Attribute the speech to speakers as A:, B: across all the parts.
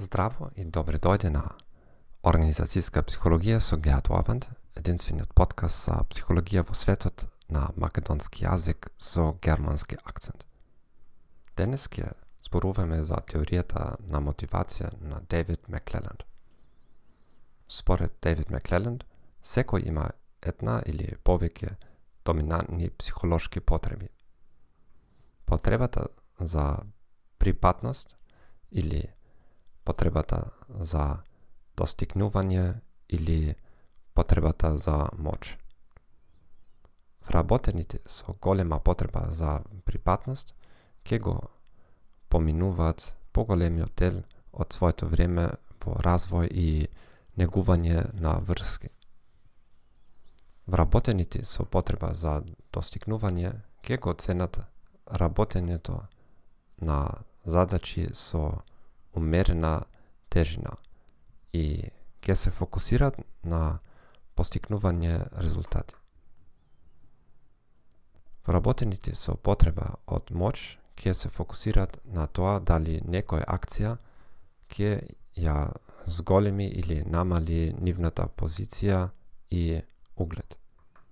A: Здраво и добре дојде на Организацијска психологија со Геат Уабанд, единствениот подкаст за психологија во светот на македонски јазик со германски акцент. Денес ќе зборуваме за теоријата на мотивација на Дейвид Маклеланд. Според Дейвид Маклеланд, секој има една или повеќе доминантни психолошки потреби. Потребата за припатност или потребата за достигнување или потребата за моќ. Вработените со голема потреба за припатност ќе го поминуваат поголемиот дел од своето време во развој и негување на врски. Вработените со потреба за достигнување ќе го ценат работењето на задачи со умерена тежина и ќе се фокусираат на постигнување резултати. Вработените со потреба од моќ ќе се фокусираат на тоа дали некоја акција ќе ја зголеми или намали нивната позиција и углед.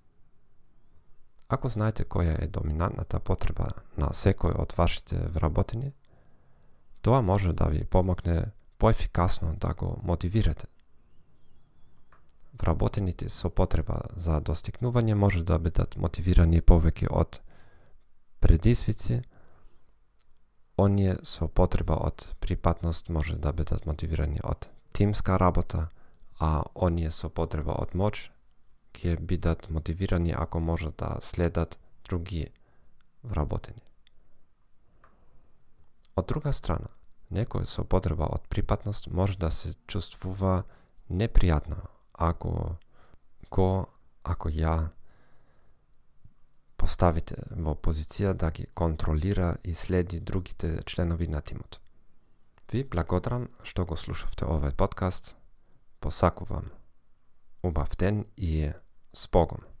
A: Ако знаете која е доминантната потреба на секој од вашите вработени, тоа може да ви помогне поефикасно да го мотивирате. Вработените со потреба за достигнување може да бидат мотивирани повеќе од предизвици, оние со потреба од припатност може да бидат мотивирани од тимска работа, а оние со потреба од моќ ќе бидат мотивирани ако може да следат други вработени. Од друга страна, некој со потреба од припатност може да се чувствува непријатно ако ја поставите во позиција да ги контролира и следи другите членови на тимот. Ви благодарам што го слушавте овој подкаст. Посакувам убав ден и с Богом.